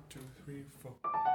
two, three, four.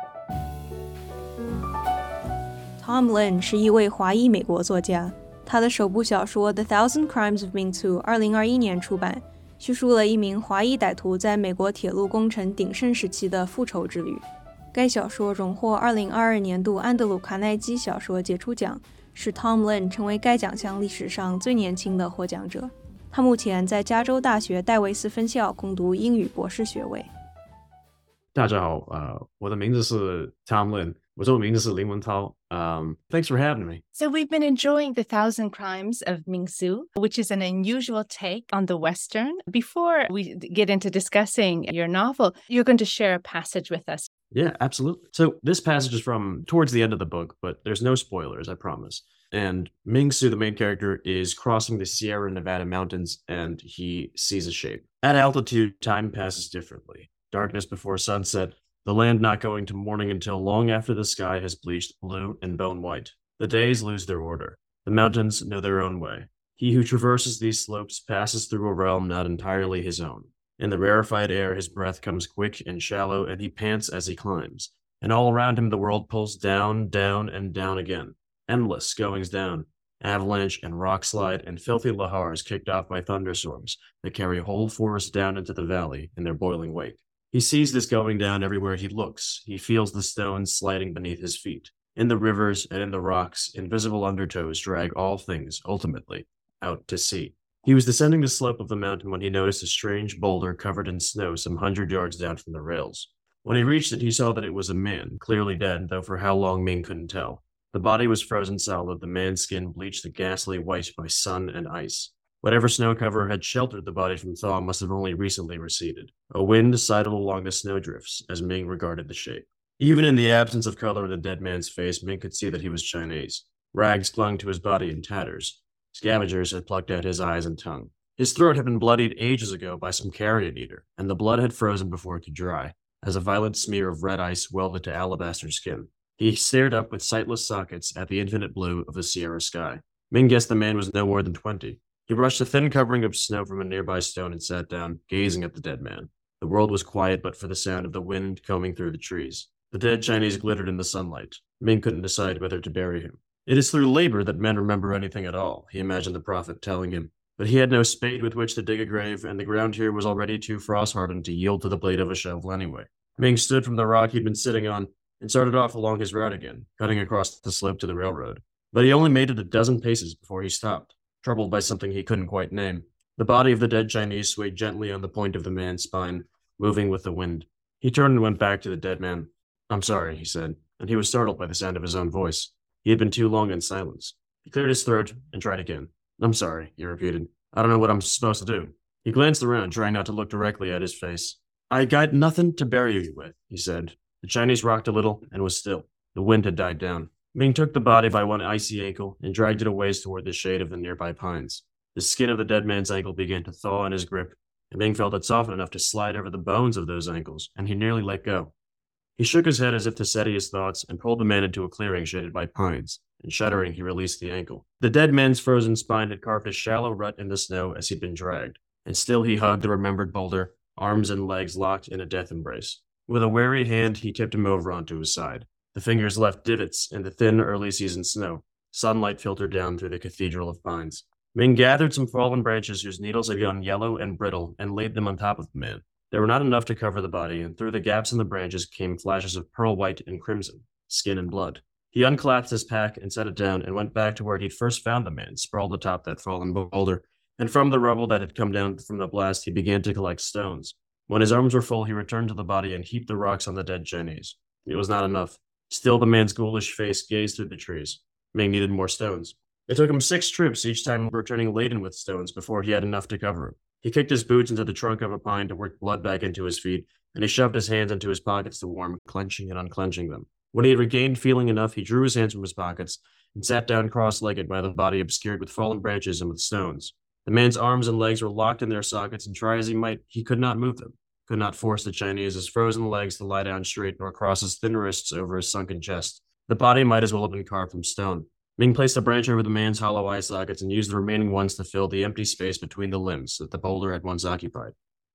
Tom Lin 是一位华裔美国作家，他的首部小说《The Thousand Crimes of Ming Su》2021年出版，叙述了一名华裔歹徒在美国铁路工程鼎盛时期的复仇之旅。该小说荣获2022年度安德鲁·卡耐基小说杰出奖，使 Tom Lin 成为该奖项历史上最年轻的获奖者。他目前在加州大学戴维斯分校攻读英语博士学位。 大家好，我的名字是 Tom Lin， 我中文名字是林文涛。Thanks for having me. So we've been enjoying The Thousand Crimes of Ming Su, which is an unusual take on the Western. Before we get into discussing your novel, you're going to share a passage with us. Yeah, absolutely. So this passage is from towards the end of the book, but there's no spoilers, I promise. And Ming Su, the main character, is crossing the Sierra Nevada mountains and he sees a shape. At altitude, time passes differently. Darkness before sunset, the land not going to morning until long after the sky has bleached blue and bone white. The days lose their order. The mountains know their own way. He who traverses these slopes passes through a realm not entirely his own. In the rarefied air, his breath comes quick and shallow, and he pants as he climbs. And all around him, the world pulls down, down, and down again. Endless goings down. Avalanche and rock slide and filthy lahars kicked off by thunderstorms that carry whole forests down into the valley in their boiling wake. He sees this going down everywhere he looks. He feels the stones sliding beneath his feet. In the rivers and in the rocks, invisible undertows drag all things, ultimately, out to sea. He was descending the slope of the mountain when he noticed a strange boulder covered in snow some 100 yards down from the rails. When he reached it, he saw that it was a man, clearly dead, though for how long Ming couldn't tell. The body was frozen solid, the man's skin bleached a ghastly white by sun and ice. Whatever snow cover had sheltered the body from thaw must have only recently receded. A wind sidled along the snowdrifts as Ming regarded the shape. Even in the absence of color in the dead man's face, Ming could see that he was Chinese. Rags clung to his body in tatters. Scavengers had plucked out his eyes and tongue. His throat had been bloodied ages ago by some carrion eater, and the blood had frozen before it could dry, as a violent smear of red ice welded to alabaster skin. He stared up with sightless sockets at the infinite blue of the Sierra sky. Ming guessed the man was no more than 20. He brushed a thin covering of snow from a nearby stone and sat down, gazing at the dead man. The world was quiet but for the sound of the wind combing through the trees. The dead Chinese glittered in the sunlight. Ming couldn't decide whether to bury him. It is through labor that men remember anything at all, he imagined the prophet telling him. But he had no spade with which to dig a grave, and the ground here was already too frost-hardened to yield to the blade of a shovel anyway. Ming stood from the rock he'd been sitting on and started off along his route again, cutting across the slope to the railroad. But he only made it a dozen paces before he stopped, troubled by something he couldn't quite name. The body of the dead Chinese swayed gently on the point of the man's spine, moving with the wind. He turned and went back to the dead man. "I'm sorry," he said, and he was startled by the sound of his own voice. He had been too long in silence. He cleared his throat and tried again. "I'm sorry," he repeated. "I don't know what I'm supposed to do." He glanced around, trying not to look directly at his face. "I got nothing to bury you with," he said. The Chinese rocked a little and was still. The wind had died down. Ming took the body by one icy ankle and dragged it a ways toward the shade of the nearby pines. The skin of the dead man's ankle began to thaw in his grip, and Ming felt it soften enough to slide over the bones of those ankles, and he nearly let go. He shook his head as if to steady his thoughts and pulled the man into a clearing shaded by pines, and shuddering, he released the ankle. The dead man's frozen spine had carved a shallow rut in the snow as he'd been dragged, and still he hugged the remembered boulder, arms and legs locked in a death embrace. With a wary hand, he tipped him over onto his side. The fingers left divots in the thin early-season snow. Sunlight filtered down through the cathedral of pines. Ming gathered some fallen branches whose needles had gone yellow and brittle and laid them on top of the man. They were not enough to cover the body, and through the gaps in the branches came flashes of pearl white and crimson, skin and blood. He unclasped his pack and set it down and went back to where he'd first found the man, sprawled atop that fallen boulder, and from the rubble that had come down from the blast, he began to collect stones. When his arms were full, he returned to the body and heaped the rocks on the dead Chinese. It was not enough. Still, the man's ghoulish face gazed through the trees. Ming needed more stones. It took him 6 trips, each time returning laden with stones, before he had enough to cover him. He kicked his boots into the trunk of a pine to work blood back into his feet, and he shoved his hands into his pockets to warm, clenching and unclenching them. When he had regained feeling enough, he drew his hands from his pockets and sat down cross-legged by the body obscured with fallen branches and with stones. The man's arms and legs were locked in their sockets, and try as he might, he could not move them. Could not force the Chinese's frozen legs to lie down straight nor cross his thin wrists over his sunken chest. The body might as well have been carved from stone. Ming placed a branch over the man's hollow eye sockets and used the remaining ones to fill the empty space between the limbs that the boulder had once occupied.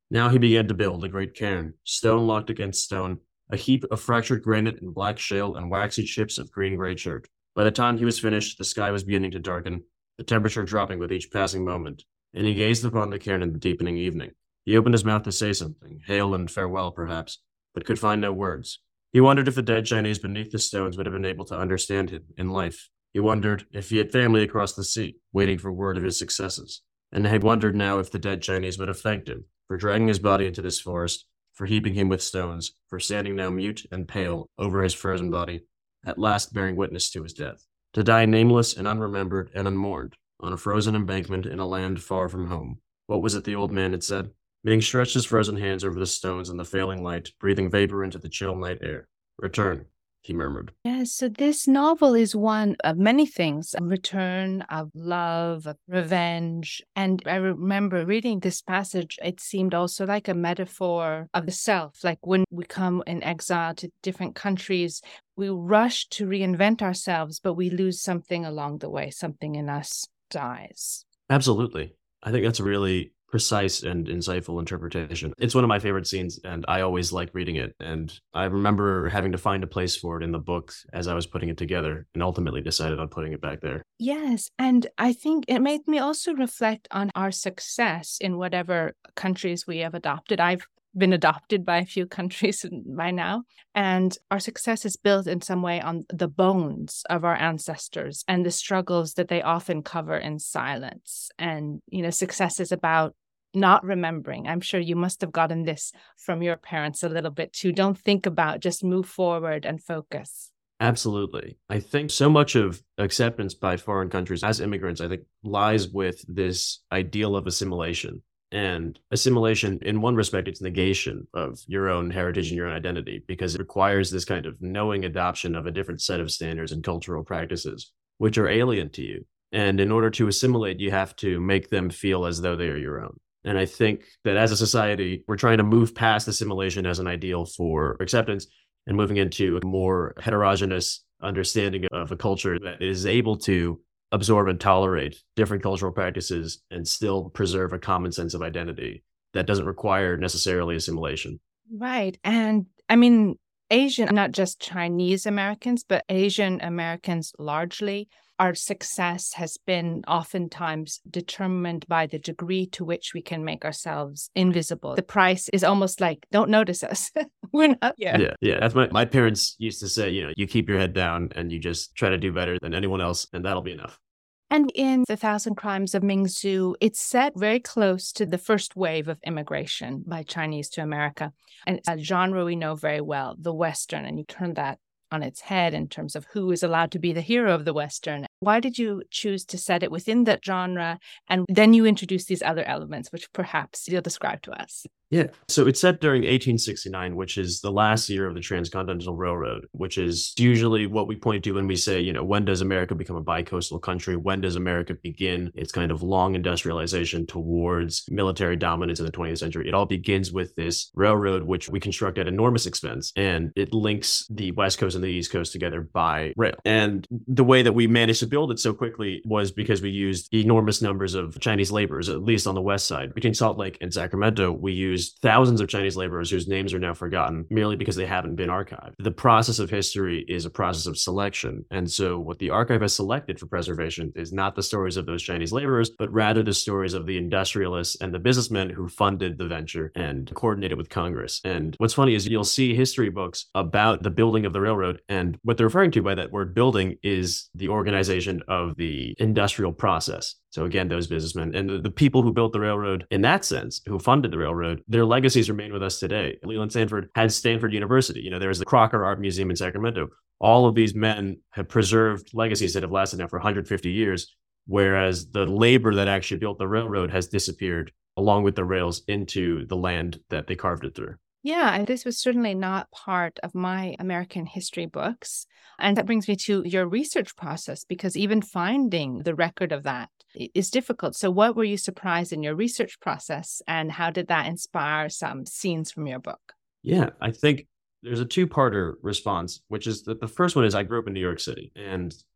Now he began to build a great cairn, stone locked against stone, a heap of fractured granite and black shale and waxy chips of green-gray chert. By the time he was finished, the sky was beginning to darken, the temperature dropping with each passing moment, and he gazed upon the cairn in the deepening evening. He opened his mouth to say something, hail and farewell perhaps, but could find no words. He wondered if the dead Chinese beneath the stones would have been able to understand him in life. He wondered if he had family across the sea, waiting for word of his successes. And he wondered now if the dead Chinese would have thanked him for dragging his body into this forest, for heaping him with stones, for standing now mute and pale over his frozen body, at last bearing witness to his death, to die nameless and unremembered and unmourned, on a frozen embankment in a land far from home. What was it the old man had said? Ming stretched his frozen hands over the stones in the failing light, breathing vapor into the chill night air. Return, he murmured. Yes, so this novel is one of many things, a return of love, of revenge. And I remember reading this passage, it seemed also like a metaphor of the self. Like when we come in exile to different countries, we rush to reinvent ourselves, but we lose something along the way. Something in us dies. Absolutely. I think that's a really precise and insightful interpretation. It's one of my favorite scenes, and I always like reading it. And I remember having to find a place for it in the book as I was putting it together, and ultimately decided on putting it back there. Yes, and I think it made me also reflect on our success in whatever countries we have adopted. I've been adopted by a few countries by now, and our success is built in some way on the bones of our ancestors and the struggles that they often cover in silence. And, success is about not remembering. I'm sure you must have gotten this from your parents a little bit too. Don't think about, just move forward and focus. Absolutely. I think so much of acceptance by foreign countries as immigrants, I think, lies with this ideal of assimilation. And assimilation, in one respect, it's negation of your own heritage and your own identity, because it requires this kind of knowing adoption of a different set of standards and cultural practices, which are alien to you. And in order to assimilate, you have to make them feel as though they are your own. And I think that as a society, we're trying to move past assimilation as an ideal for acceptance and moving into a more heterogeneous understanding of a culture that is able to absorb and tolerate different cultural practices and still preserve a common sense of identity that doesn't require necessarily assimilation. Right. And I mean, Asian, not just Chinese Americans, but Asian Americans largely, our success has been oftentimes determined by the degree to which we can make ourselves invisible. The price is almost like, don't notice us. We're not here. Yeah. That's my parents used to say, you keep your head down and you just try to do better than anyone else, and that'll be enough. And in The Thousand Crimes of Ming Su, it's set very close to the first wave of immigration by Chinese to America. And it's a genre we know very well, the Western, and you turn that on its head in terms of who is allowed to be the hero of the Western. Why did you choose to set it within that genre? And then you introduce these other elements, which perhaps you'll describe to us. Yeah. So it's set during 1869, which is the last year of the Transcontinental Railroad, which is usually what we point to when we say, when does America become a bicoastal country? When does America begin its kind of long industrialization towards military dominance in the 20th century? It all begins with this railroad, which we construct at enormous expense, and it links the West Coast and the East Coast together by rail. And the way that we managed to build it so quickly was because we used enormous numbers of Chinese laborers, at least on the West side. Between Salt Lake and Sacramento, we used thousands of Chinese laborers whose names are now forgotten merely because they haven't been archived. The process of history is a process of selection. And so what the archive has selected for preservation is not the stories of those Chinese laborers, but rather the stories of the industrialists and the businessmen who funded the venture and coordinated with Congress. And what's funny is you'll see history books about the building of the railroad, and what they're referring to by that word building is the organization of the industrial process. So again, those businessmen and the people who built the railroad in that sense, who funded the railroad, their legacies remain with us today. Leland Stanford had Stanford University. There's the Crocker Art Museum in Sacramento. All of these men have preserved legacies that have lasted now for 150 years, whereas the labor that actually built the railroad has disappeared along with the rails into the land that they carved it through. Yeah, and this was certainly not part of my American history books. And that brings me to your research process, because even finding the record of that is difficult. So what were you surprised in your research process, and how did that inspire some scenes from your book? Yeah, I think there's a two-parter response, which is that the first one is I grew up in New York City, and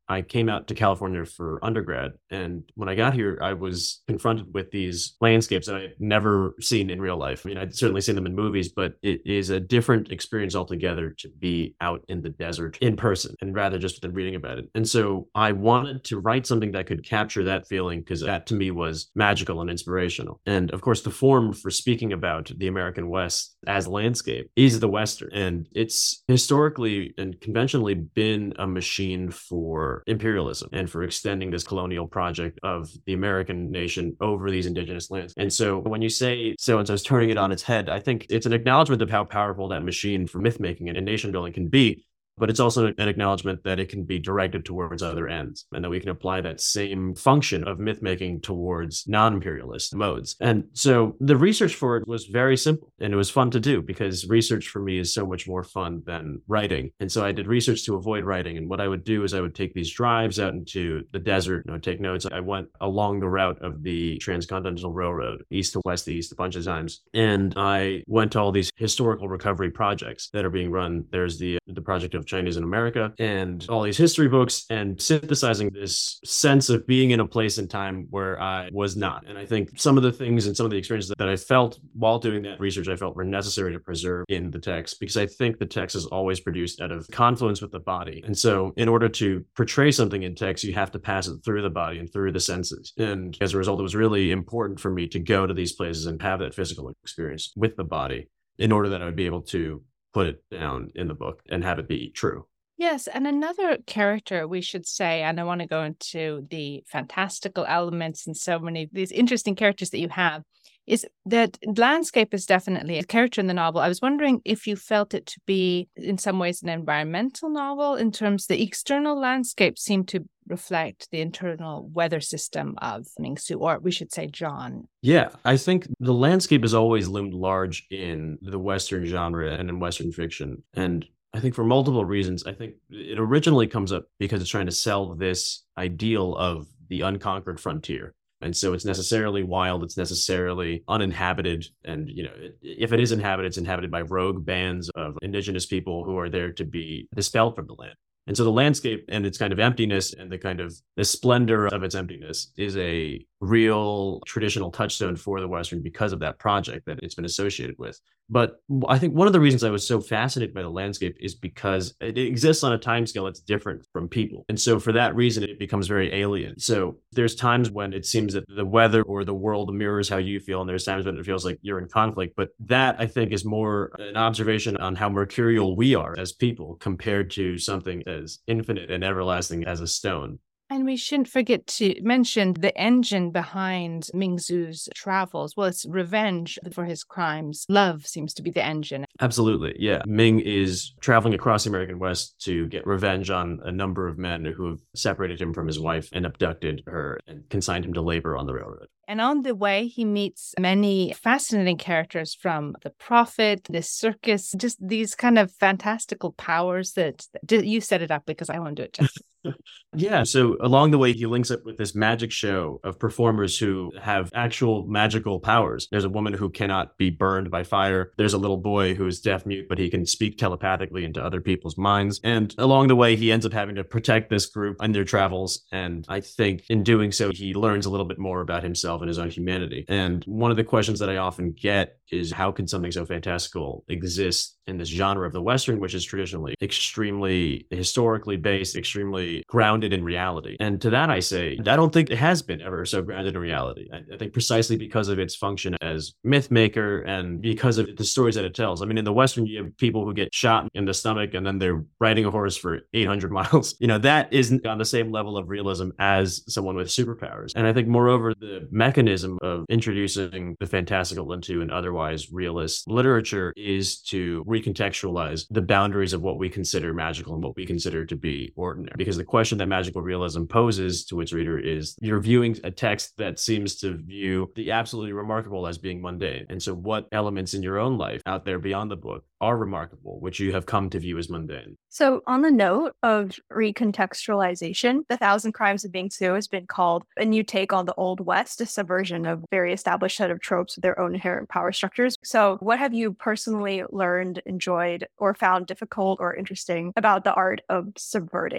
I came out to California for undergrad. And when I got here, I was confronted with these landscapes that I had never seen in real life. I mean, I'd certainly seen them in movies, but it is a different experience altogether to be out in the desert in person and rather just than reading about it. And so I wanted to write something that could capture that feeling because that to me was magical and inspirational. And of course, the form for speaking about the American West as landscape is the Western. And it's historically and conventionally been a machine for imperialism and for extending this colonial project of the American nation over these indigenous lands. And so when you say so-and-so's turning it on its head, I think it's an acknowledgement of how powerful that machine for myth making and nation building can be. But it's also an acknowledgement that it can be directed towards other ends and that we can apply that same function of myth making towards non-imperialist modes. And so the research for it was very simple and it was fun to do because research for me is so much more fun than writing. And so I did research to avoid writing. And what I would do is I would take these drives out into the desert, take notes. I went along the route of the Transcontinental Railroad, east to west, east a bunch of times. And I went to all these historical recovery projects that are being run. There's the project of Chinese in America and all these history books and synthesizing this sense of being in a place and time where I was not. And I think some of the things and some of the experiences that I felt while doing that research, I felt were necessary to preserve in the text because I think the text is always produced out of confluence with the body. And so in order to portray something in text, you have to pass it through the body and through the senses. And as a result, it was really important for me to go to these places and have that physical experience with the body in order that I would be able to put it down in the book and have it be true. Yes, and another character we should say, and I want to go into the fantastical elements and so many of these interesting characters that you have, is that landscape is definitely a character in the novel. I was wondering if you felt it to be in some ways an environmental novel in terms the external landscape seemed to reflect the internal weather system of Ming Su, or we should say John. Yeah, I think the landscape has always loomed large in the Western genre and in Western fiction. And I think for multiple reasons, I think it originally comes up because it's trying to sell this ideal of the unconquered frontier. And so it's necessarily wild, it's necessarily uninhabited. And, if it is inhabited, it's inhabited by rogue bands of indigenous people who are there to be dispelled from the land. And so the landscape and its kind of emptiness and the splendor of its emptiness is a real traditional touchstone for the Western because of that project that it's been associated with. But I think one of the reasons I was so fascinated by the landscape is because it exists on a timescale that's different from people. And so for that reason, it becomes very alien. So there's times when it seems that the weather or the world mirrors how you feel, and there's times when it feels like you're in conflict. But that, I think, is more an observation on how mercurial we are as people compared to something as infinite and everlasting as a stone. And we shouldn't forget to mention the engine behind Ming Su's travels. Well, it's revenge for his crimes. Love seems to be the engine. Absolutely. Yeah. Ming is traveling across the American West to get revenge on a number of men who have separated him from his wife and abducted her and consigned him to labor on the railroad. And on the way, he meets many fascinating characters from the prophet, the circus, just these kind of fantastical powers that you set it up because I won't do it justice. Yeah. So along the way, he links up with this magic show of performers who have actual magical powers. There's a woman who cannot be burned by fire. There's a little boy who is deaf mute, but he can speak telepathically into other people's minds. And along the way, he ends up having to protect this group in their travels. And I think in doing so, he learns a little bit more about himself and his own humanity. And one of the questions that I often get is how can something so fantastical exist in this genre of the Western, which is traditionally extremely historically based, extremely grounded in reality. And to that I say, I don't think it has been ever so grounded in reality. I think precisely because of its function as myth maker and because of the stories that it tells. I mean, in the Western, you have people who get shot in the stomach and then they're riding a horse for 800 miles. That isn't on the same level of realism as someone with superpowers. And I think moreover, the mechanism of introducing the fantastical into an otherwise realist literature is to recontextualize the boundaries of what we consider magical and what we consider to be ordinary. Because the question that magical realism poses to its reader is you're viewing a text that seems to view the absolutely remarkable as being mundane. And so what elements in your own life out there beyond the book are remarkable, which you have come to view as mundane? So on the note of recontextualization, The Thousand Crimes of Ming Su has been called a new take on the Old West, a subversion of very established set of tropes with their own inherent power structures. So what have you personally learned, enjoyed, or found difficult or interesting about the art of subverting and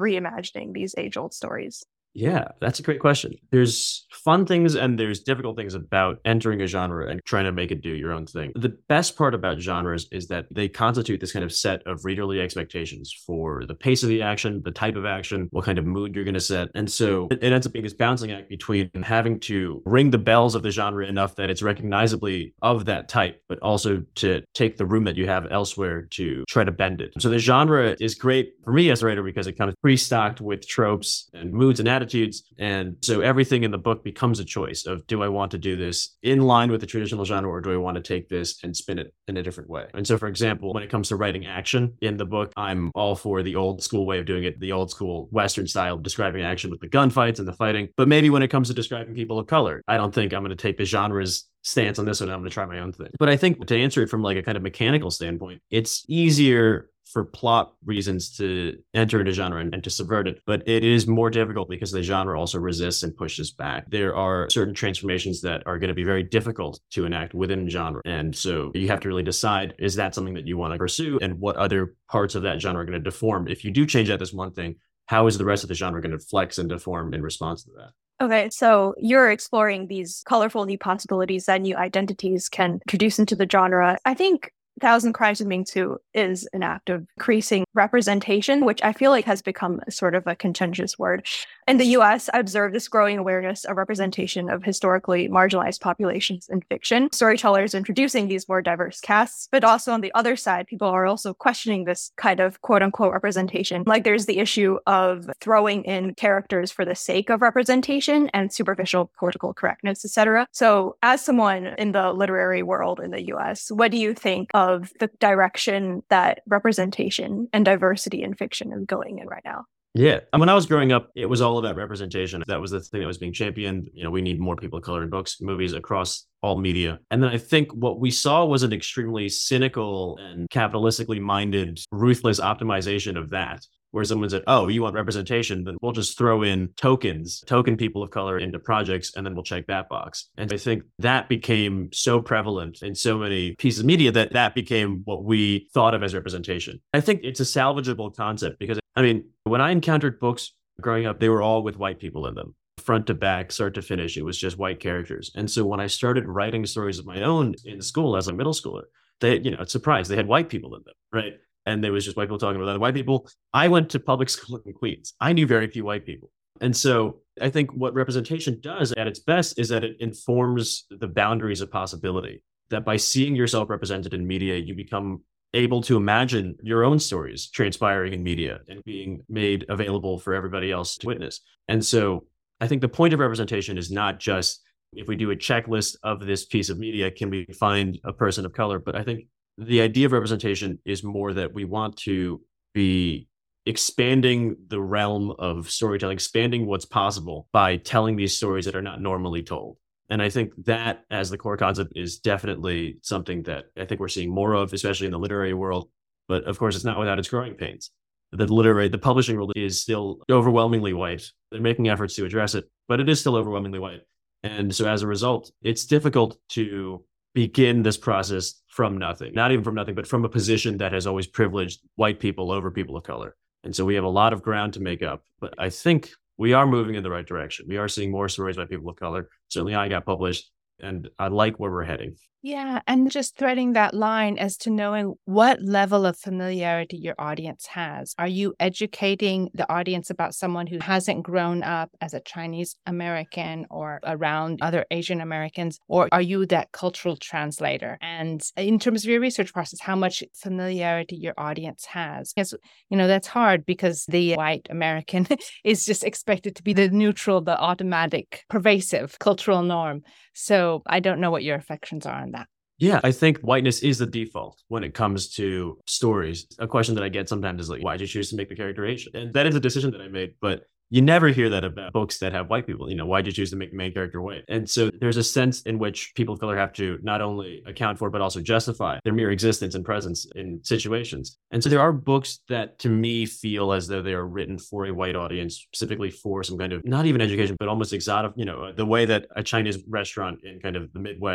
reimagining these age-old stories? Yeah, that's a great question. There's fun things and there's difficult things about entering a genre and trying to make it do your own thing. The best part about genres is that they constitute this kind of set of readerly expectations for the pace of the action, the type of action, what kind of mood you're going to set. And so it ends up being this balancing act between having to ring the bells of the genre enough that it's recognizably of that type, but also to take the room that you have elsewhere to try to bend it. So the genre is great for me as a writer because it kind of pre-stocked with tropes and moods and attitudes. And so everything in the book becomes a choice of, do I want to do this in line with the traditional genre, or do I want to take this and spin it in a different way? And so, for example, when it comes to writing action in the book, I'm all for the old school way of doing it, the old school Western style, describing action with the gunfights and the fighting. But maybe when it comes to describing people of color, I don't think I'm going to take the genre's stance on this one. I'm going to try my own thing. But I think to answer it from like a kind of mechanical standpoint, it's easier for plot reasons to enter into genre and to subvert it. But it is more difficult because the genre also resists and pushes back. There are certain transformations that are going to be very difficult to enact within genre. And so you have to really decide, is that something that you want to pursue? And what other parts of that genre are going to deform? If you do change out this one thing, how is the rest of the genre going to flex and deform in response to that? Okay, so you're exploring these colorful new possibilities that new identities can introduce into the genre. I think Thousand Crimes of Ming Tu is an act of increasing representation, which I feel like has become sort of a contentious word. In the US, I observe this growing awareness of representation of historically marginalized populations in fiction. Storytellers introducing these more diverse casts, but also on the other side, people are also questioning this kind of quote unquote representation. Like there's the issue of throwing in characters for the sake of representation and superficial political correctness, etc. So as someone in the literary world in the US, what do you think of the direction that representation and diversity in fiction is going in right now? Yeah. And when I was growing up, it was all about representation. That was the thing that was being championed. You know, we need more people of color in books, movies, across all media. And then I think what we saw was an extremely cynical and capitalistically minded, ruthless optimization of that, where someone said, oh, you want representation, then we'll just throw in token people of color into projects, and then we'll check that box. And I think that became so prevalent in so many pieces of media that that became what we thought of as representation. I think it's a salvageable concept because, I mean, when I encountered books growing up, they were all with white people in them. Front to back, start to finish, it was just white characters. And so when I started writing stories of my own in school as a middle schooler, they, you know, it's surprised they had white people in them, right? And there was just white people talking about other white people. I went to public school in Queens. I knew very few white people. And so I think what representation does at its best is that it informs the boundaries of possibility, that by seeing yourself represented in media, you become able to imagine your own stories transpiring in media and being made available for everybody else to witness. And so I think the point of representation is not just, if we do a checklist of this piece of media, can we find a person of color? But I think the idea of representation is more that we want to be expanding the realm of storytelling, expanding what's possible by telling these stories that are not normally told. And I think that as the core concept is definitely something that I think we're seeing more of, especially in the literary world. But of course, it's not without its growing pains. The publishing world is still overwhelmingly white. They're making efforts to address it, but it is still overwhelmingly white. And so as a result, it's difficult to begin this process from nothing, not even from nothing, but from a position that has always privileged white people over people of color. And so we have a lot of ground to make up, but I think we are moving in the right direction. We are seeing more stories by people of color. Certainly I got published, and I like where we're heading. Yeah, and just threading that line as to knowing what level of familiarity your audience has. Are you educating the audience about someone who hasn't grown up as a Chinese American or around other Asian Americans, or are you that cultural translator? And in terms of your research process, how much familiarity your audience has? Because, that's hard because the white American is just expected to be the neutral, the automatic, pervasive cultural norm. So I don't know what your reflections are on that. Yeah, I think whiteness is the default when it comes to stories. A question that I get sometimes is like, why did you choose to make the character Asian? And that is a decision that I made, but you never hear that about books that have white people. Why did you choose to make the main character white? And so there's a sense in which people of color have to not only account for, but also justify their mere existence and presence in situations. And so there are books that to me feel as though they are written for a white audience, specifically for some kind of, not even education, but almost exotic, the way that a Chinese restaurant in kind of the Midwest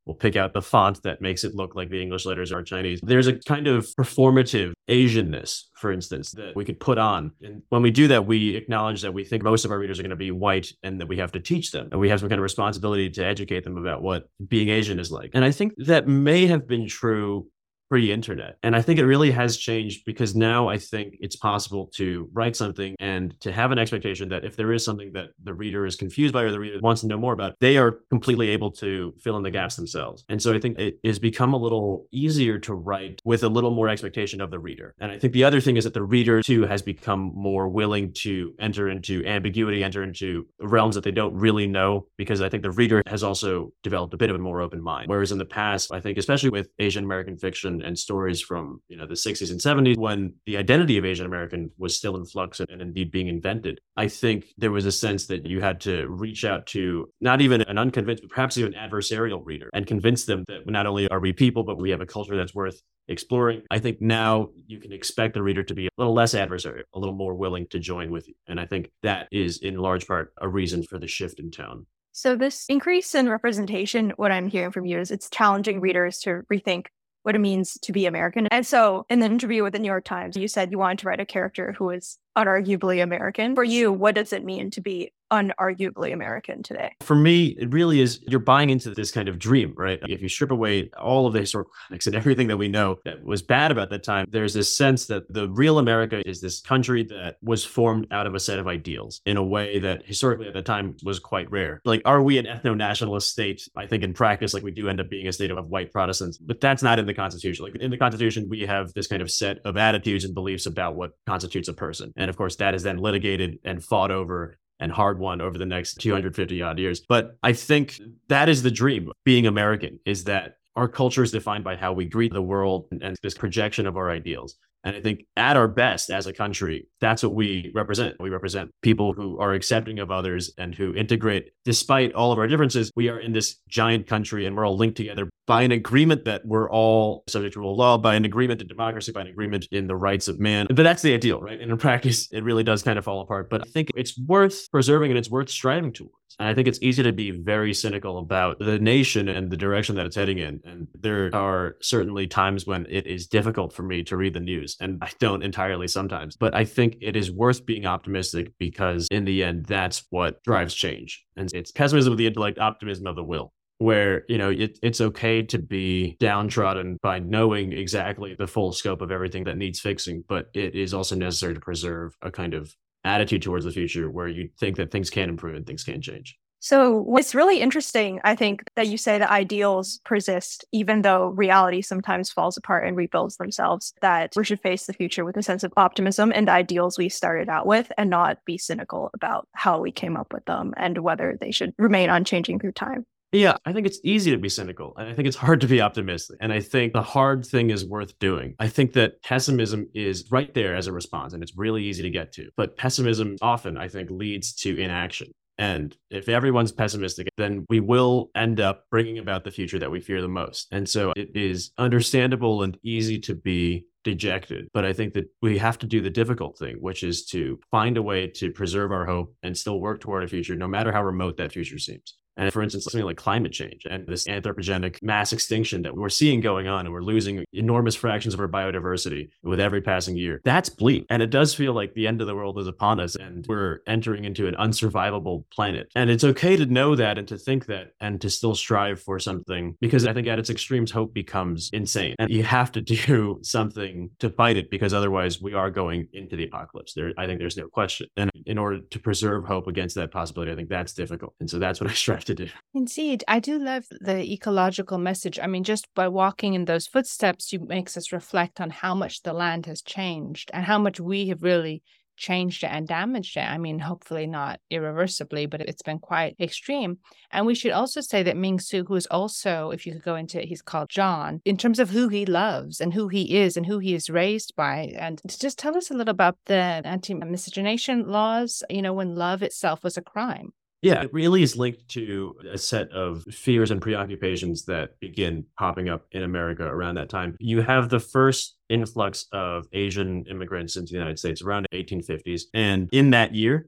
We'll pick out the font that makes it look like the English letters are Chinese. There's a kind of performative Asianness, for instance, that we could put on. And when we do that, we acknowledge that we think most of our readers are going to be white and that we have to teach them. And we have some kind of responsibility to educate them about what being Asian is like. And I think that may have been true pre-internet. And I think it really has changed because now I think it's possible to write something and to have an expectation that if there is something that the reader is confused by or the reader wants to know more about, they are completely able to fill in the gaps themselves. And so I think it has become a little easier to write with a little more expectation of the reader. And I think the other thing is that the reader too has become more willing to enter into ambiguity, enter into realms that they don't really know, because I think the reader has also developed a bit of a more open mind. Whereas in the past, I think especially with Asian American fiction and stories from the 60s and 70s, when the identity of Asian American was still in flux and indeed being invented, I think there was a sense that you had to reach out to not even an unconvinced, but perhaps even adversarial reader and convince them that not only are we people, but we have a culture that's worth exploring. I think now you can expect the reader to be a little less adversarial, a little more willing to join with you. And I think that is in large part a reason for the shift in tone. So this increase in representation, what I'm hearing from you is it's challenging readers to rethink what it means to be American. And so in the interview with the New York Times, you said you wanted to write a character who is unarguably American. For you, what does it mean to be unarguably American today? For me, it really is, you're buying into this kind of dream, right? If you strip away all of the historical context and everything that we know that was bad about that time, there's this sense that the real America is this country that was formed out of a set of ideals in a way that historically at the time was quite rare. Like, are we an ethno-nationalist state? I think in practice, like we do end up being a state of white Protestants, but that's not in the Constitution. Like in the Constitution, we have this kind of set of attitudes and beliefs about what constitutes a person. And of course, that is then litigated and fought over and hard won over the next 250 odd years. But I think that is the dream. Being American is that our culture is defined by how we greet the world and this projection of our ideals. And I think at our best as a country, that's what we represent. We represent people who are accepting of others and who integrate. Despite all of our differences, we are in this giant country and we're all linked together by an agreement that we're all subject to rule of law, by an agreement in democracy, by an agreement in the rights of man. But that's the ideal, right? And in practice, it really does kind of fall apart. But I think it's worth preserving and it's worth striving towards. And I think it's easy to be very cynical about the nation and the direction that it's heading in. And there are certainly times when it is difficult for me to read the news, and I don't entirely sometimes. But I think it is worth being optimistic because in the end, that's what drives change. And it's pessimism of the intellect, optimism of the will, where, it's okay to be downtrodden by knowing exactly the full scope of everything that needs fixing. But it is also necessary to preserve a kind of attitude towards the future where you think that things can improve and things can change. So what's really interesting, I think, that you say that ideals persist, even though reality sometimes falls apart and rebuilds themselves, that we should face the future with a sense of optimism and the ideals we started out with and not be cynical about how we came up with them and whether they should remain unchanging through time. Yeah, I think it's easy to be cynical, and I think it's hard to be optimistic. And I think the hard thing is worth doing. I think that pessimism is right there as a response, and it's really easy to get to. But pessimism often, I think, leads to inaction. And if everyone's pessimistic, then we will end up bringing about the future that we fear the most. And so it is understandable and easy to be dejected. But I think that we have to do the difficult thing, which is to find a way to preserve our hope and still work toward a future, no matter how remote that future seems. And for instance, something like climate change and this anthropogenic mass extinction that we're seeing going on, and we're losing enormous fractions of our biodiversity with every passing year. That's bleak. And it does feel like the end of the world is upon us and we're entering into an unsurvivable planet. And it's okay to know that and to think that and to still strive for something, because I think at its extremes, hope becomes insane. And you have to do something to fight it, because otherwise we are going into the apocalypse. I think there's no question. And in order to preserve hope against that possibility, I think that's difficult. And so that's what I strive to do. Indeed. I do love the ecological message. I mean, just by walking in those footsteps, it makes us reflect on how much the land has changed and how much we have really changed it and damaged it. I mean, hopefully not irreversibly, but it's been quite extreme. And we should also say that Ming-Su, who is also, if you could go into it, he's called John, in terms of who he loves and who he is raised by. And to just tell us a little about the anti-miscegenation laws, when love itself was a crime. Yeah, it really is linked to a set of fears and preoccupations that begin popping up in America around that time. You have the first influx of Asian immigrants into the United States around the 1850s. And in that year, they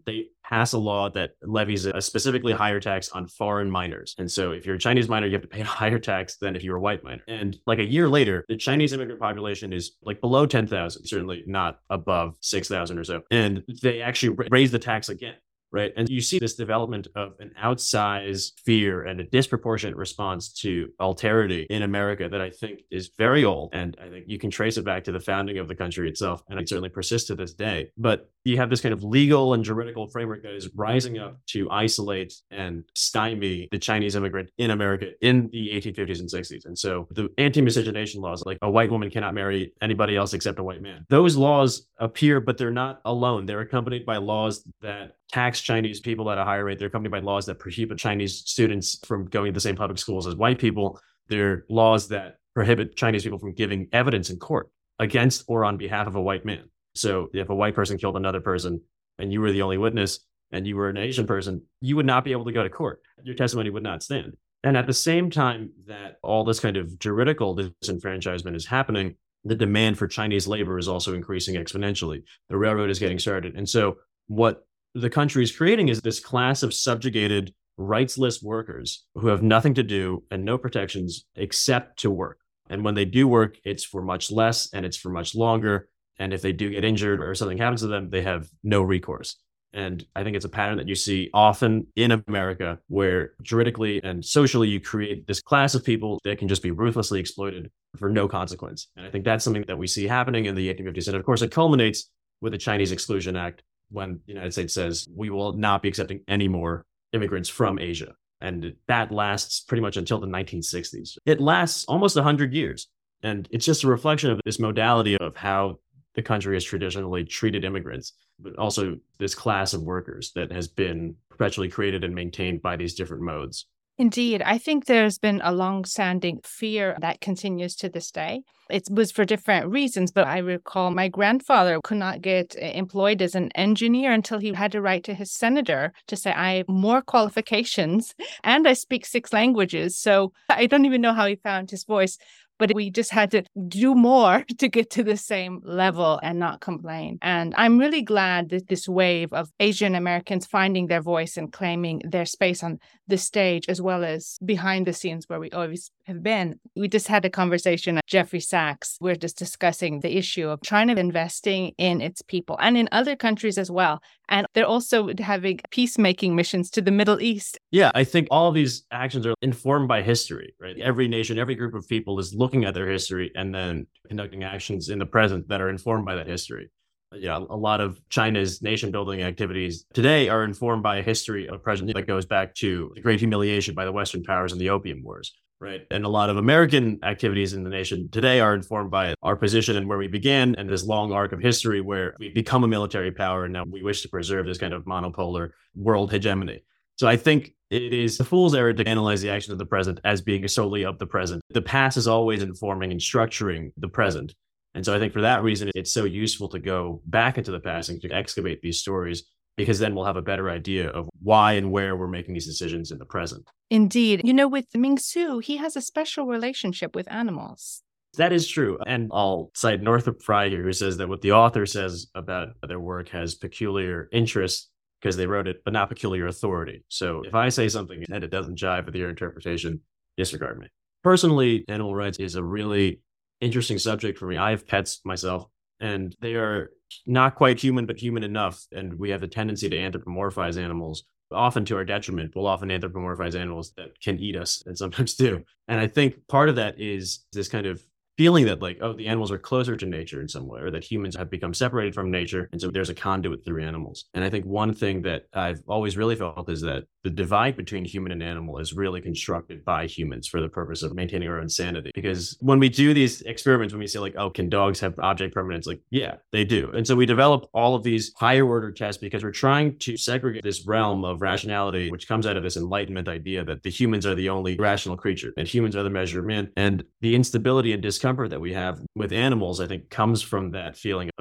pass a law that levies a specifically higher tax on foreign minors. And so if you're a Chinese minor, you have to pay a higher tax than if you were a white minor. And like a year later, the Chinese immigrant population is like below 10,000, certainly not above 6,000 or so. And they actually raise the tax again. Right. And you see this development of an outsized fear and a disproportionate response to alterity in America that I think is very old. And I think you can trace it back to the founding of the country itself. And it certainly persists to this day. But you have this kind of legal and juridical framework that is rising up to isolate and stymie the Chinese immigrant in America in the 1850s and 60s. And so the anti-miscegenation laws, like a white woman cannot marry anybody else except a white man, those laws appear, but they're not alone. They're accompanied by laws that tax Chinese people at a higher rate. They're accompanied by laws that prohibit Chinese students from going to the same public schools as white people. They're laws that prohibit Chinese people from giving evidence in court against or on behalf of a white man. So if a white person killed another person and you were the only witness and you were an Asian person, you would not be able to go to court. Your testimony would not stand. And at the same time that all this kind of juridical disenfranchisement is happening, the demand for Chinese labor is also increasing exponentially. The railroad is getting started. And so what the country is creating is this class of subjugated, rightsless workers who have nothing to do and no protections except to work. And when they do work, it's for much less and it's for much longer. And if they do get injured or something happens to them, they have no recourse. And I think it's a pattern that you see often in America, where juridically and socially, you create this class of people that can just be ruthlessly exploited for no consequence. And I think that's something that we see happening in the 1850s. And of course, it culminates with the Chinese Exclusion Act, when the United States says we will not be accepting any more immigrants from Asia. And that lasts pretty much until the 1960s. It lasts almost 100 years. And it's just a reflection of this modality of how the country has traditionally treated immigrants, but also this class of workers that has been perpetually created and maintained by these different modes. Indeed. I think there's been a long-standing fear that continues to this day. It was for different reasons, but I recall my grandfather could not get employed as an engineer until he had to write to his senator to say, I have more qualifications and I speak 6 languages. So I don't even know how he found his voice. But we just had to do more to get to the same level and not complain. And I'm really glad that this wave of Asian Americans finding their voice and claiming their space on the stage, as well as behind the scenes where we always have been. We just had a conversation at Jeffrey Sachs. We're just discussing the issue of China investing in its people and in other countries as well. And they're also having peacemaking missions to the Middle East. Yeah, I think all of these actions are informed by history, right? Every nation, every group of people is looking at their history and then conducting actions in the present that are informed by that history. Yeah, a lot of China's nation building activities today are informed by a history of present that goes back to the Great Humiliation by the Western powers and the Opium Wars. Right. And a lot of American activities in the nation today are informed by our position and where we began and this long arc of history where we become a military power. And now we wish to preserve this kind of monopolar world hegemony. So I think it is a fool's error to analyze the actions of the present as being solely of the present. The past is always informing and structuring the present. And so I think for that reason, it's so useful to go back into the past and to excavate these stories, because then we'll have a better idea of why and where we're making these decisions in the present. Indeed. You know, with Ming Su, he has a special relationship with animals. That is true. And I'll cite Northrop Frye here, who says that what the author says about their work has peculiar interest because they wrote it, but not peculiar authority. So if I say something and it doesn't jive with your interpretation, disregard me. Personally, animal rights is a really interesting subject for me. I have pets myself, and they are not quite human, but human enough. And we have the tendency to anthropomorphize animals, often to our detriment. We'll often anthropomorphize animals that can eat us, and sometimes do. And I think part of that is this kind of feeling that like, oh, the animals are closer to nature in some way, or that humans have become separated from nature. And so there's a conduit through animals. And I think one thing that I've always really felt is that the divide between human and animal is really constructed by humans for the purpose of maintaining our own sanity. Because when we do these experiments, when we say like, oh, can dogs have object permanence? Like, yeah, they do. And so we develop all of these higher order tests because we're trying to segregate this realm of rationality, which comes out of this Enlightenment idea that the humans are the only rational creature and humans are the measure of man. And the instability and discomfort that we have with animals, I think, comes from that feeling of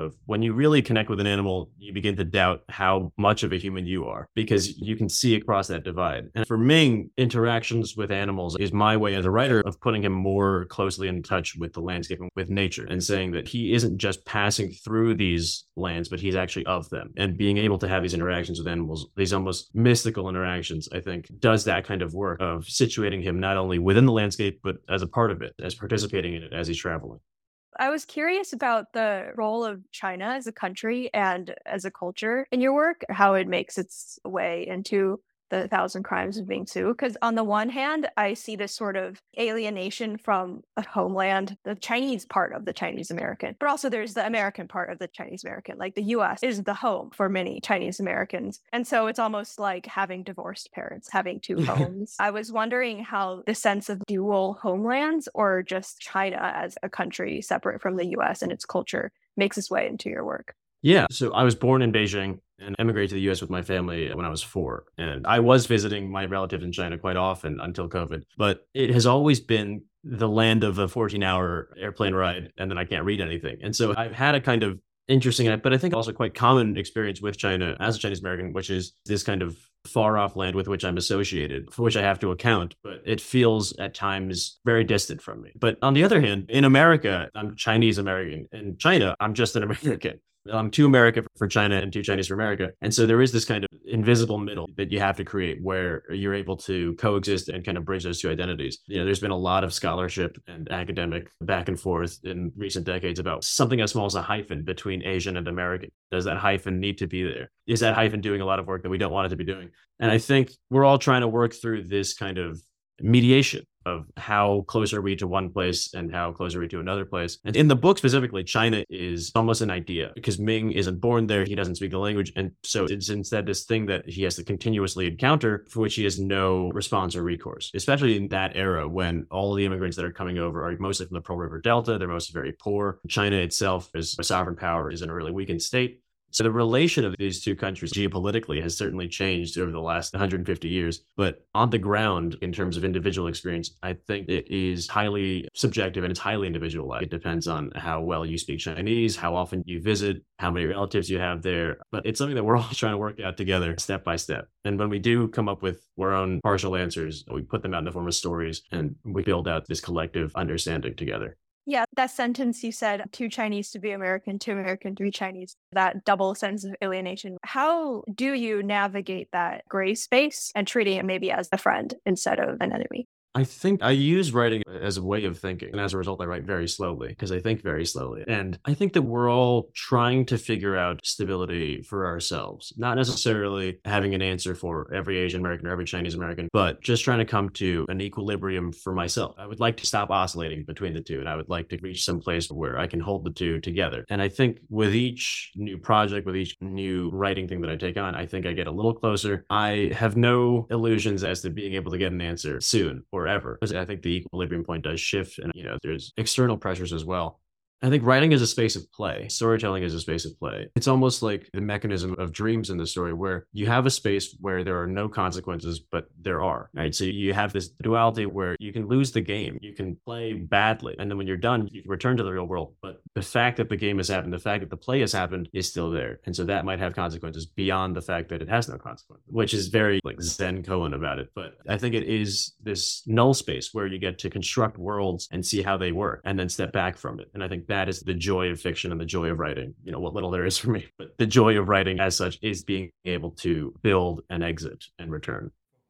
of when you really connect with an animal, you begin to doubt how much of a human you are because you can see across that divide. And for Ming, interactions with animals is my way as a writer of putting him more closely in touch with the landscape and with nature and saying that he isn't just passing through these lands, but he's actually of them. And being able to have these interactions with animals, these almost mystical interactions, I think does that kind of work of situating him not only within the landscape, but as a part of it, as participating in it as he's traveling. I was curious about the role of China as a country and as a culture in your work, how it makes its way into the Thousand Crimes of Ming Su. Because on the one hand, I see this sort of alienation from a homeland, the Chinese part of the Chinese American, but also there's the American part of the Chinese American. Like the US is the home for many Chinese Americans. And so it's almost like having divorced parents, having two homes. I was wondering how the sense of dual homelands or just China as a country separate from the US and its culture makes its way into your work. Yeah. So I was born in Beijing and emigrated to the US with my family when I was 4. And I was visiting my relatives in China quite often until COVID. But it has always been the land of a 14-hour airplane ride, and then I can't read anything. And so I've had a kind of interesting, but I think also quite common experience with China as a Chinese American, which is this kind of far off land with which I'm associated, for which I have to account, but it feels at times very distant from me. But on the other hand, in America, I'm Chinese American. In China, I'm just an American. I'm too American for China and too Chinese for America. And so there is this kind of invisible middle that you have to create where you're able to coexist and kind of bridge those two identities. You know, there's been a lot of scholarship and academic back and forth in recent decades about something as small as a hyphen between Asian and American. Does that hyphen need to be there? Is that hyphen doing a lot of work that we don't want it to be doing? And I think we're all trying to work through this kind of mediation of how close are we to one place and how close are we to another place. And in the book specifically, China is almost an idea because Ming isn't born there. He doesn't speak the language. And so it's instead this thing that he has to continuously encounter for which he has no response or recourse, especially in that era when all the immigrants that are coming over are mostly from the Pearl River Delta. They're mostly very poor. China itself is a sovereign power, is in a really weakened state. So the relation of these two countries geopolitically has certainly changed over the last 150 years. But on the ground, in terms of individual experience, I think it is highly subjective and it's highly individualized. It depends on how well you speak Chinese, how often you visit, how many relatives you have there. But it's something that we're all trying to work out together step by step. And when we do come up with our own partial answers, we put them out in the form of stories and we build out this collective understanding together. Yeah, that sentence you said, too Chinese to be American, too American to be Chinese, that double sense of alienation. How do you navigate that gray space and treating it maybe as a friend instead of an enemy? I think I use writing as a way of thinking. And as a result, I write very slowly because I think very slowly. And I think that we're all trying to figure out stability for ourselves, not necessarily having an answer for every Asian American or every Chinese American, but just trying to come to an equilibrium for myself. I would like to stop oscillating between the two. And I would like to reach some place where I can hold the two together. And I think with each new project, with each new writing thing that I take on, I think I get a little closer. I have no illusions as to being able to get an answer soon or ever. I think the equilibrium point does shift and, there's external pressures as well. I think writing is a space of play. Storytelling is a space of play. It's almost like the mechanism of dreams in the story where you have a space where there are no consequences, but there are, right? So you have this duality where you can lose the game, you can play badly. And then when you're done, you can return to the real world. But the fact that the game has happened, the fact that the play has happened is still there. And so that might have consequences beyond the fact that it has no consequence, which is very like Zen koan about it. But I think it is this null space where you get to construct worlds and see how they work and then step back from it. And I think that is the joy of fiction and the joy of writing, what little there is for me. But the joy of writing as such is being able to build and exit and return.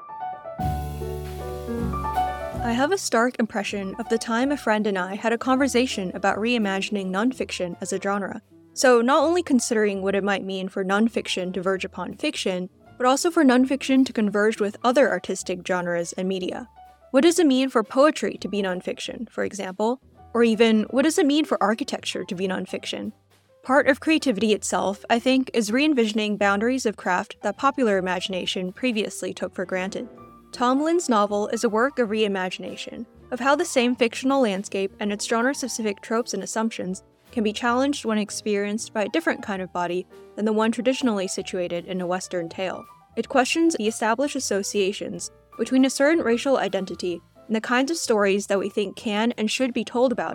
I have a stark impression of the time a friend and I had a conversation about reimagining nonfiction as a genre. So not only considering what it might mean for nonfiction to verge upon fiction, but also for nonfiction to converge with other artistic genres and media. What does it mean for poetry to be nonfiction, for example? Or even, what does it mean for architecture to be nonfiction? Part of creativity itself, I think, is re-envisioning boundaries of craft that popular imagination previously took for granted. Tom Lin's novel is a work of reimagination, of how the same fictional landscape and its genre-specific tropes and assumptions can be challenged when experienced by a different kind of body than the one traditionally situated in a Western tale. It questions the established associations between a certain racial identity and the kinds of stories that we think can and should be told about it.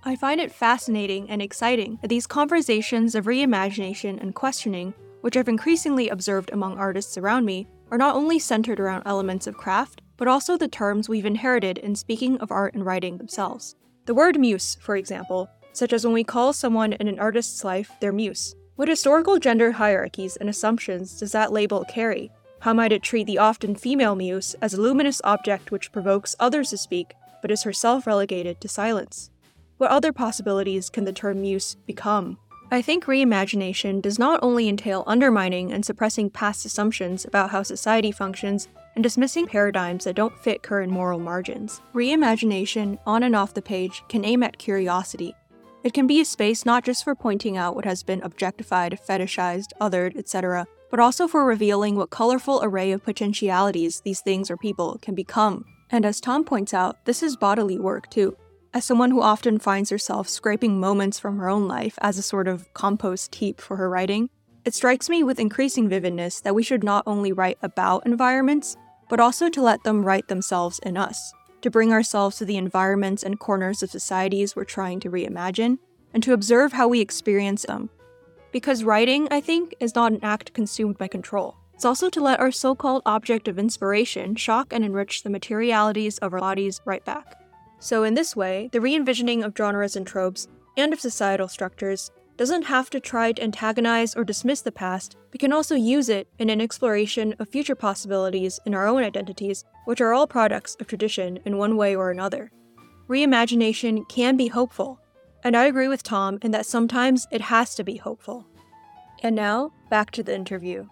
I find it fascinating and exciting that these conversations of reimagination and questioning, which I've increasingly observed among artists around me, are not only centered around elements of craft, but also the terms we've inherited in speaking of art and writing themselves. The word muse, for example, such as when we call someone in an artist's life their muse. What historical gender hierarchies and assumptions does that label carry? How might it treat the often female muse as a luminous object which provokes others to speak, but is herself relegated to silence? What other possibilities can the term muse become? I think reimagination does not only entail undermining and suppressing past assumptions about how society functions and dismissing paradigms that don't fit current moral margins. Reimagination, on and off the page, can aim at curiosity. It can be a space not just for pointing out what has been objectified, fetishized, othered, etc., but also for revealing what colorful array of potentialities these things or people can become. And as Tom points out, this is bodily work too. As someone who often finds herself scraping moments from her own life as a sort of compost heap for her writing, it strikes me with increasing vividness that we should not only write about environments, but also to let them write themselves in us, to bring ourselves to the environments and corners of societies we're trying to reimagine, and to observe how we experience them. Because writing, I think, is not an act consumed by control. It's also to let our so-called object of inspiration shock and enrich the materialities of our bodies right back. So in this way, the re-envisioning of genres and tropes, and of societal structures, doesn't have to try to antagonize or dismiss the past, but can also use it in an exploration of future possibilities in our own identities, which are all products of tradition in one way or another. Reimagination can be hopeful, and I agree with Tom in that sometimes it has to be hopeful. And now, back to the interview.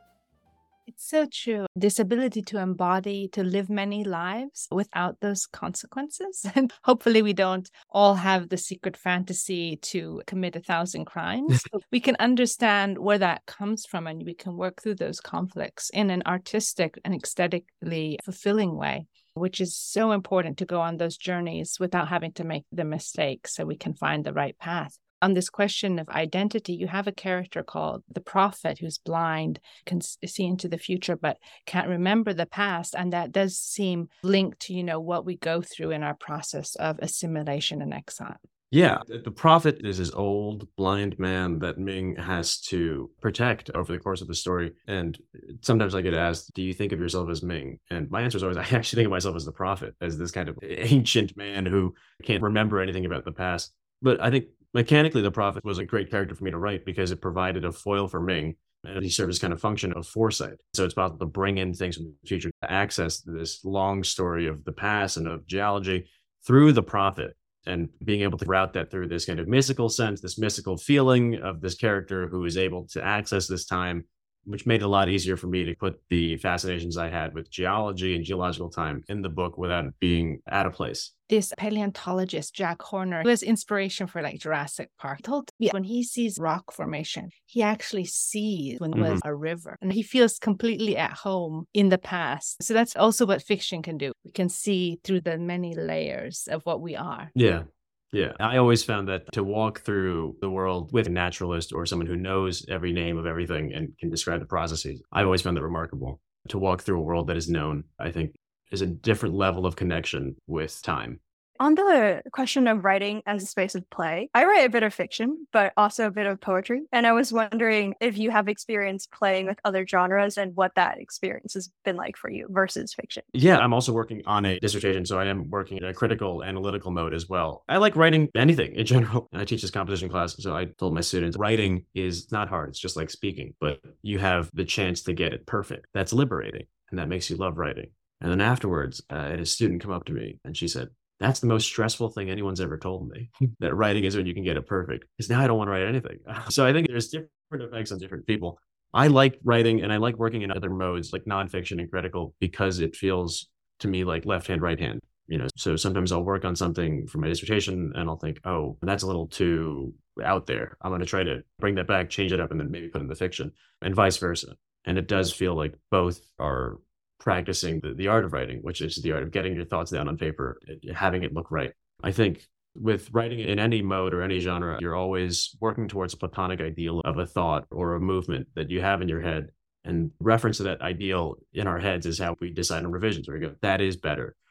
It's so true. This ability to embody, to live many lives without those consequences. And hopefully we don't all have the secret fantasy to commit 1,000 crimes. We can understand where that comes from and we can work through those conflicts in an artistic and aesthetically fulfilling way, which is so important to go on those journeys without having to make the mistakes so we can find the right path. On this question of identity, you have a character called the prophet who's blind, can see into the future, but can't remember the past. And that does seem linked to, what we go through in our process of assimilation and exile. Yeah, the prophet is this old blind man that Ming has to protect over the course of the story. And sometimes I get asked, do you think of yourself as Ming? And my answer is always, I actually think of myself as the prophet, as this kind of ancient man who can't remember anything about the past. But I think mechanically, the prophet was a great character for me to write because it provided a foil for Ming, and he served as kind of function of foresight. So it's possible to bring in things from the future to access this long story of the past and of geology through the prophet, and being able to route that through this kind of mystical sense, this mystical feeling of this character who is able to access this time, which made it a lot easier for me to put the fascinations I had with geology and geological time in the book without it being out of place. This paleontologist, Jack Horner, who has inspiration for Jurassic Park, told me when he sees rock formation, he actually sees when it was a river. And he feels completely at home in the past. So that's also what fiction can do. We can see through the many layers of what we are. Yeah, I always found that to walk through the world with a naturalist or someone who knows every name of everything and can describe the processes, I've always found that remarkable. To walk through a world that is known, I think, is a different level of connection with time. On the question of writing as a space of play, I write a bit of fiction, but also a bit of poetry. And I was wondering if you have experience playing with other genres and what that experience has been like for you versus fiction. Yeah, I'm also working on a dissertation, so I am working in a critical analytical mode as well. I like writing anything in general. I teach this composition class, so I told my students, writing is not hard. It's just like speaking, but you have the chance to get it perfect. That's liberating, and that makes you love writing. And then afterwards, I had a student come up to me, and she said, that's the most stressful thing anyone's ever told me, that writing is when you can get it perfect. Because now I don't want to write anything. So I think there's different effects on different people. I like writing and I like working in other modes like nonfiction and critical because it feels to me like left hand, right hand. So sometimes I'll work on something for my dissertation and I'll think, oh, that's a little too out there. I'm going to try to bring that back, change it up, and then maybe put it in the fiction, and vice versa. And it does feel like both are practicing the art of writing, which is the art of getting your thoughts down on paper, having it look right. I think with writing in any mode or any genre, you're always working towards a platonic ideal of a thought or a movement that you have in your head. And reference to that ideal in our heads is how we decide on revisions, where we go, that is better.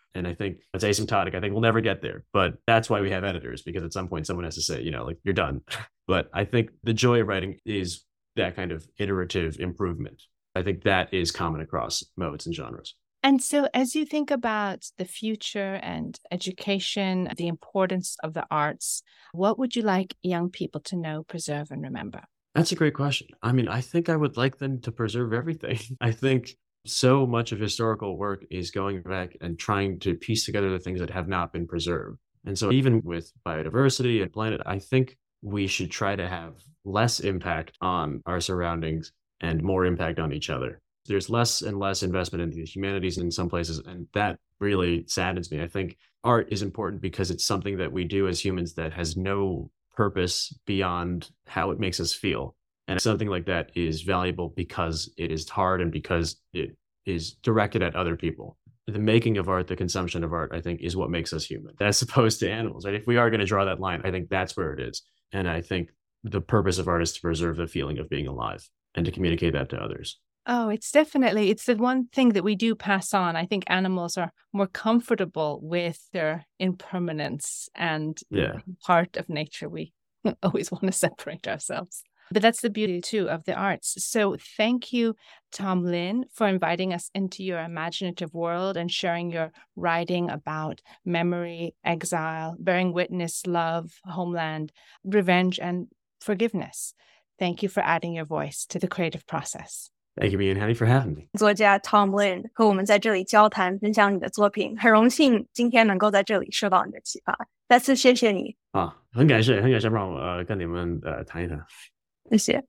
And I think it's asymptotic. I think we'll never get there, but that's why we have editors, because at some point someone has to say, like, you're done. But I think the joy of writing is that kind of iterative improvement. I think that is common across modes and genres. And so as you think about the future and education, the importance of the arts, what would you like young people to know, preserve, and remember? That's a great question. I mean, I think I would like them to preserve everything. I think so much of historical work is going back and trying to piece together the things that have not been preserved. And so even with biodiversity and planet, I think we should try to have less impact on our surroundings and more impact on each other. There's less and less investment in the humanities in some places, and that really saddens me. I think art is important because it's something that we do as humans that has no purpose beyond how it makes us feel. And something like that is valuable because it is hard and because it is directed at other people. The making of art, the consumption of art, I think, is what makes us human, as opposed to animals, right? If we are going to draw that line, I think that's where it is. And I think the purpose of art is to preserve the feeling of being alive and to communicate that to others. Oh, it's the one thing that we do pass on. I think animals are more comfortable with their impermanence and part of nature. We always want to separate ourselves. But that's the beauty, too, of the arts. So thank you, Tom Lin, for inviting us into your imaginative world and sharing your writing about memory, exile, bearing witness, love, homeland, revenge, and forgiveness. Thank you for adding your voice to the creative process. Thank you, me and Hattie, for having me. 作家 Tom Lin 和我们在这里交谈，分享你的作品，很荣幸今天能够在这里受到你的启发。再次谢谢你。 很感谢让我跟你们谈一谈。 谢谢。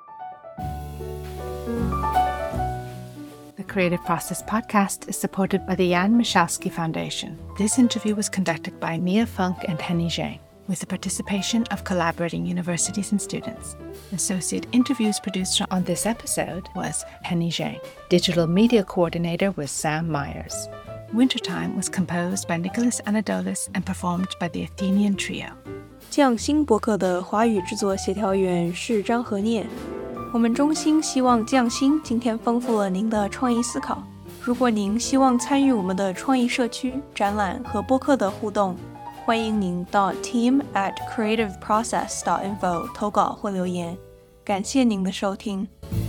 The Creative Process podcast is supported by the Jan Michalski Foundation. This interview was conducted by Mia Funk and Henny Zhang, with the participation of collaborating universities and students. Associate interviews producer on this episode was Henny Zhang. Digital media coordinator was Sam Myers. Wintertime was composed by Nicholas Anadoulis and performed by the Athenian Trio. 匠心播客的华语制作协调员是张和念。我们衷心希望匠心今天丰富了您的创意思考。如果您希望参与我们的创意社区、展览和播客的互动，欢迎您到 team@creativeprocess.info 投稿或留言。感谢您的收听。